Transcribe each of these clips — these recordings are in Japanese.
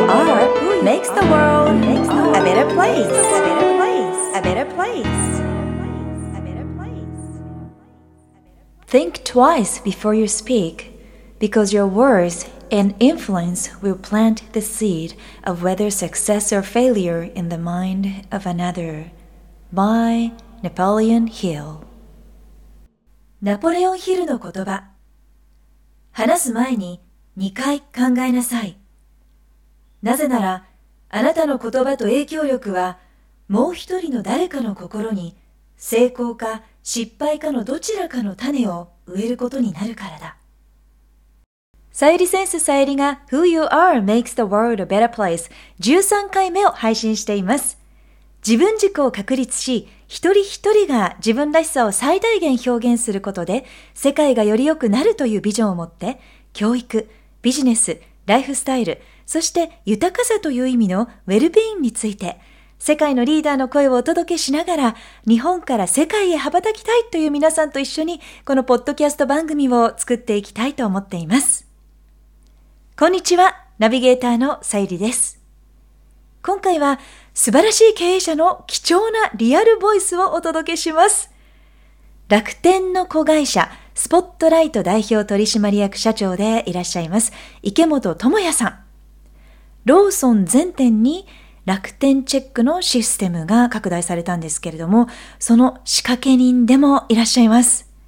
are makes the world a better place. A better place. Think twice before you speak, because your words and influence will plant the seed of whether success or failure in the mind of another. By Napoleon Hill。 ナポレオン・ヒルの言葉。話す前に2回考えなさい。なぜなら、あなたの言葉と影響力は、もう一人の誰かの心に、成功か失敗かのどちらかの種を植えることになるからだ。さゆりセンスさゆりが Who You Are Makes the World a Better Place 13回目を配信しています。自分軸を確立し、一人一人が自分らしさを最大限表現することで、世界がより良くなるというビジョンを持って、教育、ビジネス、ライフスタイル、そして豊かさという意味のウェルビーイングについて、世界のリーダーの声をお届けしながら、日本から世界へ羽ばたきたいという皆さんと一緒に、このポッドキャスト番組を作っていきたいと思っています。こんにちは、ナビゲーターのさゆりです。今回は素晴らしい経営者の貴重なリアルボイスをお届けします。楽天の子会社、スポットライト代表取締役社長でいらっしゃいます、池本智也さん。ローソン全店に楽天チェックのシステムが拡大されたんですけれども、その仕掛け人でもいらっしゃいます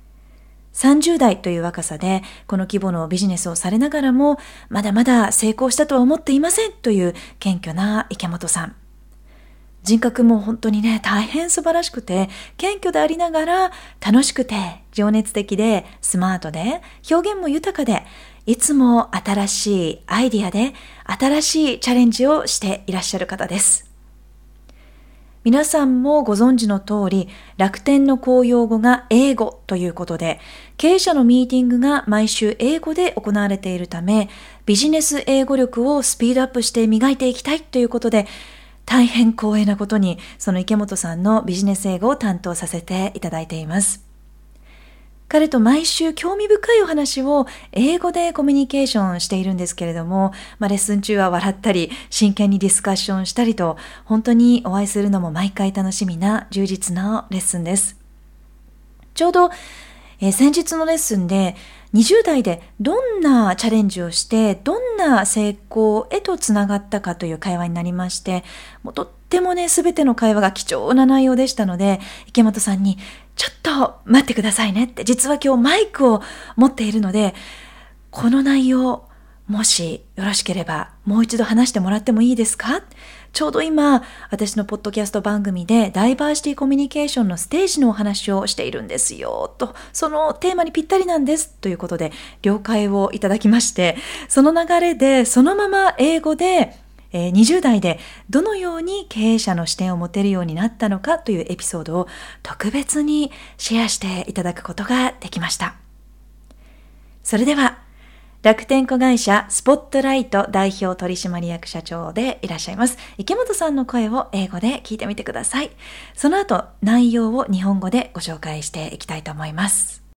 。30代という若さでこの規模のビジネスをされながらも、まだまだ成功したとは思っていませんという謙虚な池本さん。人格も本当にね、大変素晴らしくて、謙虚でありながら楽しくて情熱的でスマートで表現も豊かで、いつも新しいアイディアで新しいチャレンジをしていらっしゃる方です。皆さんもご存知の通り、楽天の公用語が英語ということで、経営者のミーティングが毎週英語で行われているため、ビジネス英語力をスピードアップして磨いていきたいということで、大変光栄なことに、その池本さんのビジネス英語を担当させていただいています。彼と毎週興味深いお話を英語でコミュニケーションしているんですけれども、レッスン中は笑ったり、真剣にディスカッションしたりと、本当にお会いするのも毎回楽しみな充実なレッスンです。ちょうど、先日のレッスンで、20代でどんなチャレンジをして、どんな成功へとつながったかという会話になりまして、もうとってもね、すべての会話が貴重な内容でしたので、池本さんに、ちょっと待ってくださいねって、実は今日マイクを持っているので、この内容、もしよろしければもう一度話してもらってもいいですか？ちょうど今、私のポッドキャスト番組でダイバーシティコミュニケーションのステージのお話をしているんですよ、と、そのテーマにぴったりなんです、ということで了解をいただきまして、その流れでそのまま英語で、20代でどのように経営者の視点を持てるようになったのかというエピソードを特別にシェアしていただくことができました。それでは、楽天子会社スポットライト代表取締役社長でいらっしゃいます池本さんの声を英語で聞いてみてください。その後、内容を日本語でご紹介していきたいと思います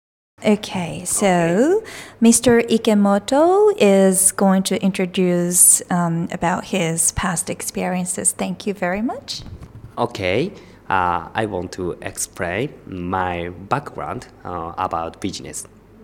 。Okay, so Mr. Ikemoto is going to introduce about his past experiences. Thank you very much. Okay, I want to explain my background about business.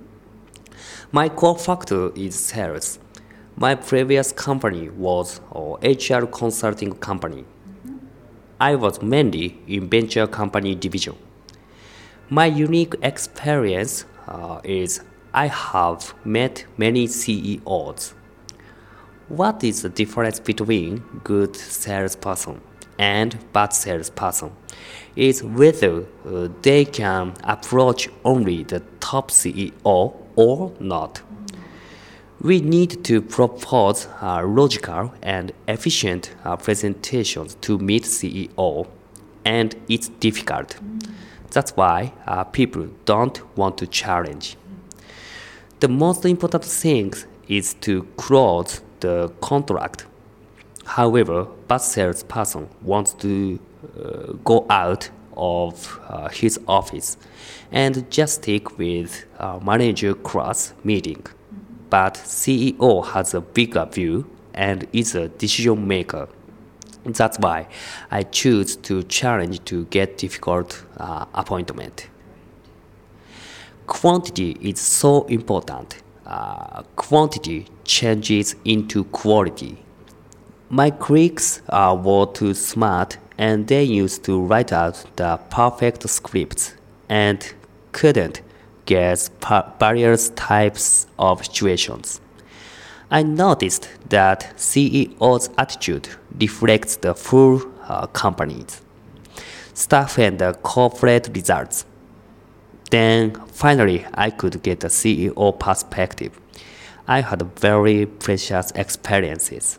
My core factor is sales. My previous company was an HR consulting company. I was mainly in venture company division. My unique experience is I have met many CEOs. What is the difference between good salesperson and bad salesperson? Is whether they can approach only the top CEO or not. We need to propose logical and efficient presentations to meet CEO, and it's difficult. That's why people don't want to challenge. The most important thing is to close the contract. However, bad salesperson wants to go out of his office and just stick with manager class meeting. But CEO has a bigger view and is a decision maker. That's why I choose to challenge to get difficult appointment. Quantity is so important. Quantity changes into quality. My critics were too smart and they used to write out the perfect scripts and couldn't guess various types of situations. I noticed that CEO's attitude reflects the full company's staff and the corporate results. Then finally I could get a CEO perspective. I had very precious experiences.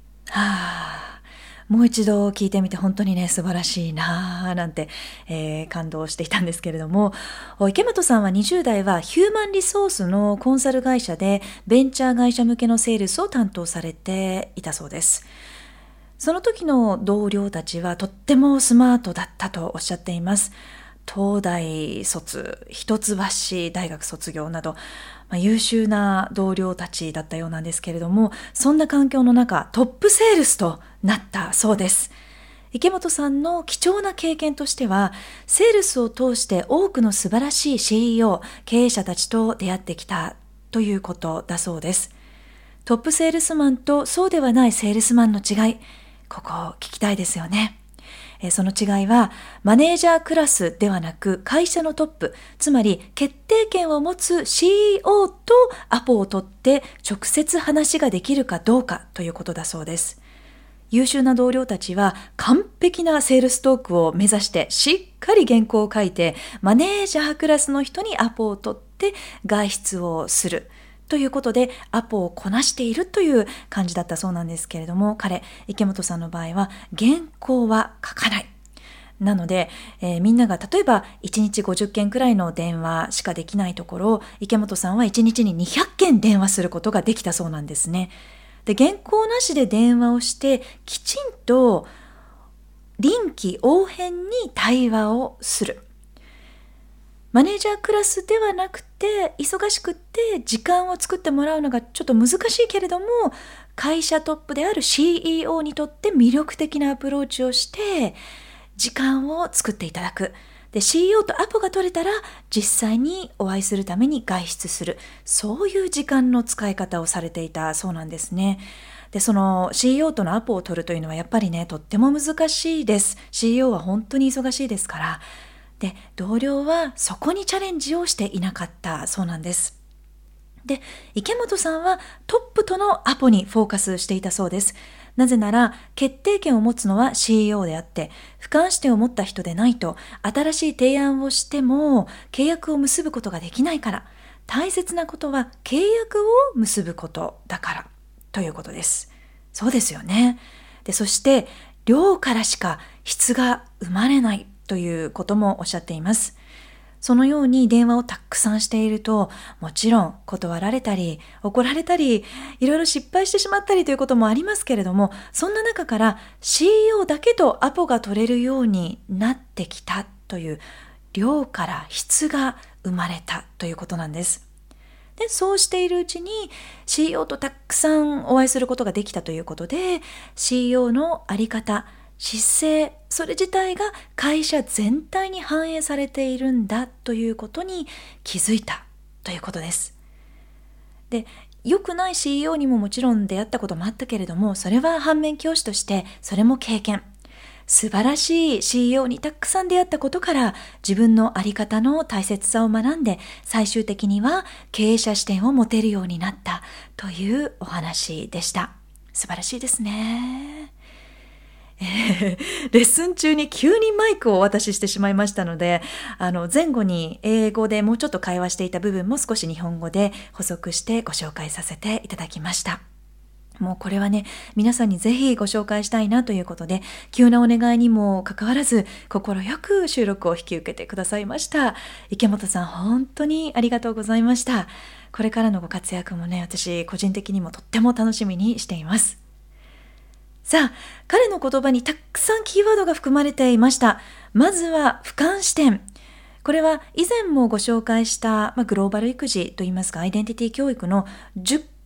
もう一度聞いてみて本当にね素晴らしいなぁなんて、感動していたんですけれども、池本さんは20代はヒューマンリソースのコンサル会社でベンチャー会社向けのセールスを担当されていたそうです。その時の同僚たちはとってもスマートだったとおっしゃっています。東大卒、一橋大学卒業など、優秀な同僚たちだったようなんですけれども、そんな環境の中、トップセールスとなったそうです。池本さんの貴重な経験としては、セールスを通して多くの素晴らしい CEO、経営者たちと出会ってきたということだそうです。トップセールスマンとそうではないセールスマンの違い、ここ聞きたいですよね。その違いはマネージャークラスではなく会社のトップ、つまり決定権を持つ CEO とアポを取って直接話ができるかどうかということだそうです。優秀な同僚たちは完璧なセールストークを目指してしっかり原稿を書いてマネージャークラスの人にアポを取って外出をするということでアポをこなしているという感じだったそうなんですけれども、池本さんの場合は原稿は書かない。なので、みんなが例えば1日50件くらいの電話しかできないところ、池本さんは1日に200件電話することができたそうなんですね。で、原稿なしで電話をしてきちんと臨機応変に対話をする。マネージャークラスではなくて忙しくって時間を作ってもらうのがちょっと難しいけれども、会社トップである CEO にとって魅力的なアプローチをして時間を作っていただく。で、CEO とアポが取れたら実際にお会いするために外出する。そういう時間の使い方をされていたそうなんですね。で、その CEO とのアポを取るというのはやっぱりね、とっても難しいです。CEO は本当に忙しいですから。で、同僚はそこにチャレンジをしていなかったそうなんです。で、池本さんはトップとのアポにフォーカスしていたそうです。なぜなら、決定権を持つのは CEO であって、俯瞰視点を持った人でないと、新しい提案をしても契約を結ぶことができないから、大切なことは契約を結ぶことだからということです。そうですよね。で、そして量からしか質が生まれないということもおっしゃっています。そのように電話をたくさんしていると、もちろん断られたり、怒られたり、いろいろ失敗してしまったりということもありますけれども、そんな中から CEO だけとアポが取れるようになってきたという、量から質が生まれたということなんです。で、そうしているうちに CEO とたくさんお会いすることができたということで、CEO のあり方、姿勢、それ自体が会社全体に反映されているんだということに気づいたということです。で、良くない CEO にももちろん出会ったこともあったけれども、それは反面教師としてそれも経験。素晴らしい CEO にたくさん出会ったことから自分のあり方の大切さを学んで、最終的には経営者視点を持てるようになったというお話でした。素晴らしいですね。レッスン中に急にマイクをお渡ししてしまいましたので、前後に英語でもうちょっと会話していた部分も少し日本語で補足してご紹介させていただきました。もうこれはね、皆さんにぜひご紹介したいなということで、急なお願いにもかかわらず、心よく収録を引き受けてくださいました。池本さん、本当にありがとうございました。これからのご活躍もね、私個人的にもとっても楽しみにしています。さあ、彼の言葉にたくさんキーワードが含まれていました。まずは俯瞰視点。これは以前もご紹介した、グローバル育児といいますかアイデンティティ教育の10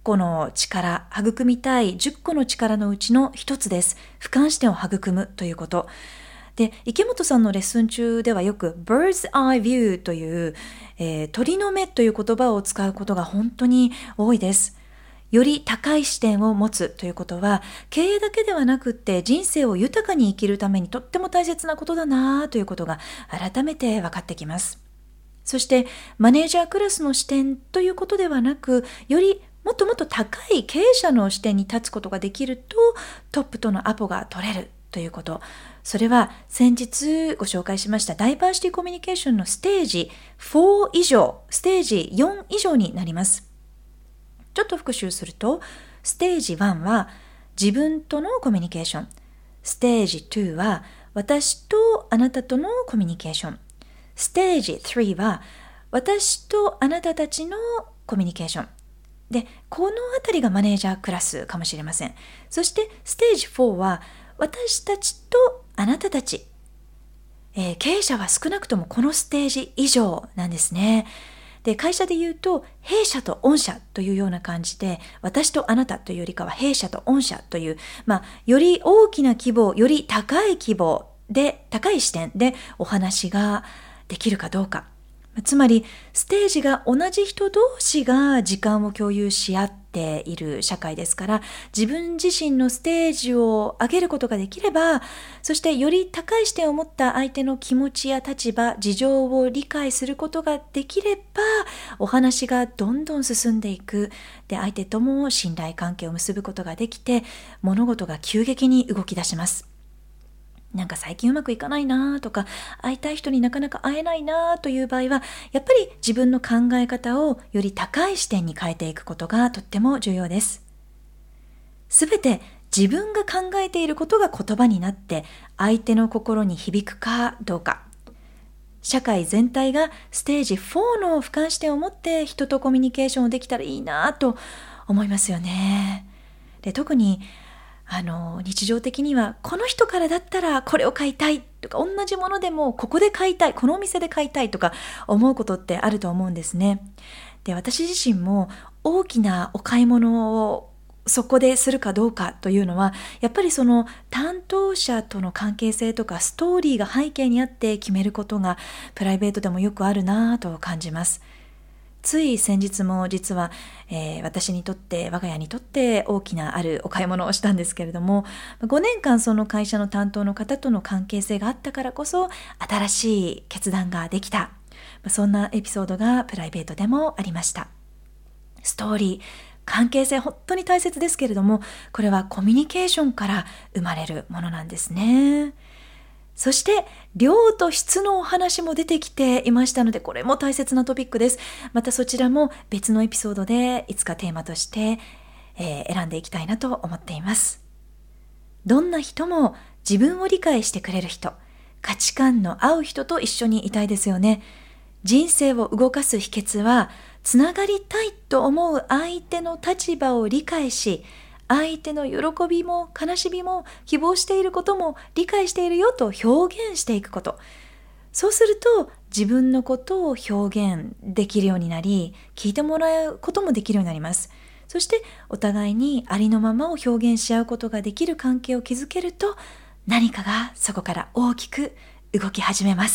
個の力、育みたい10個の力のうちの一つです。俯瞰視点を育むということ。で、池本さんのレッスン中ではよく bird's eye view という、鳥の目という言葉を使うことが本当に多いです。より高い視点を持つということは、経営だけではなくって人生を豊かに生きるためにとっても大切なことだなということが改めて分かってきます。そしてマネージャークラスの視点ということではなく、よりもっともっと高い経営者の視点に立つことができると、トップとのアポが取れるということ。それは先日ご紹介しましたダイバーシティコミュニケーションのステージ4以上、ステージ4以上になります。ちょっと復習すると、ステージ1は自分とのコミュニケーション。ステージ2は私とあなたとのコミュニケーション。ステージ3は私とあなたたちのコミュニケーション。で、このあたりがマネージャークラスかもしれません。そしてステージ4は私たちとあなたたち。経営者は少なくともこのステージ以上なんですね。で、会社で言うと、弊社と御社というような感じで、私とあなたというよりかは弊社と御社という、より大きな規模、より高い規模で、高い視点でお話ができるかどうか。つまり、ステージが同じ人同士が時間を共有し合っている社会ですから、自分自身のステージを上げることができれば、そしてより高い視点を持った相手の気持ちや立場、事情を理解することができれば、お話がどんどん進んでいく。で、相手とも信頼関係を結ぶことができて、物事が急激に動き出します。なんか最近うまくいかないなとか、会いたい人になかなか会えないなという場合は、やっぱり自分の考え方をより高い視点に変えていくことがとっても重要です。すべて自分が考えていることが言葉になって相手の心に響くかどうか。社会全体がステージ4の俯瞰視点を持って人とコミュニケーションをできたらいいなと思いますよね。で、特に日常的にはこの人からだったらこれを買いたいとか、同じものでもここで買いたい、このお店で買いたいとか思うことってあると思うんですね。で、私自身も大きなお買い物をそこでするかどうかというのは、やっぱりその担当者との関係性とかストーリーが背景にあって決めることがプライベートでもよくあるなと感じます。つい先日も実は、私にとって我が家にとって大きなあるお買い物をしたんですけれども、5年間その会社の担当の方との関係性があったからこそ新しい決断ができた、そんなエピソードがプライベートでもありました。ストーリー、関係性本当に大切ですけれども、これはコミュニケーションから生まれるものなんですね。そして量と質のお話も出てきていましたので、これも大切なトピックです。またそちらも別のエピソードでいつかテーマとして、選んでいきたいなと思っています。どんな人も自分を理解してくれる人、価値観の合う人と一緒にいたいですよね。人生を動かす秘訣は、つながりたいと思う相手の立場を理解し、相手の喜びも悲しみも希望していることも理解しているよと表現していくこと。そうすると自分のことを表現できるようになり、聞いてもらうこともできるようになります。そしてお互いにありのままを表現し合うことができる関係を築けると、何かがそこから大きく動き始めます。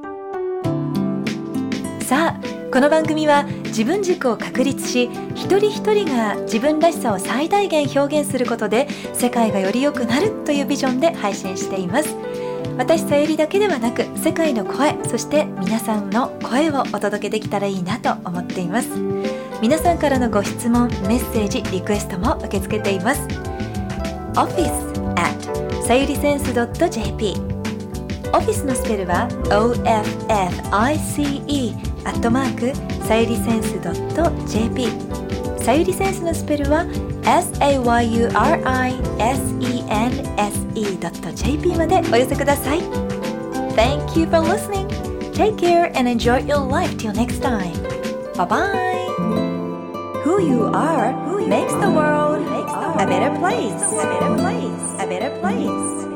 さあ、この番組は自分軸を確立し、一人一人が自分らしさを最大限表現することで世界がより良くなるというビジョンで配信しています。私さゆりだけではなく、世界の声、そして皆さんの声をお届けできたらいいなと思っています。皆さんからのご質問、メッセージ、リクエストも受け付けています。office@sayurisense.jp、 オフィスのスペルは office@sayurisense.jp、 さゆりセンスのスペルは sayurisense.jp までお寄せください。 Thank you for listening. Take care and enjoy your life till next time. Bye bye. Who you are makes the world a better place.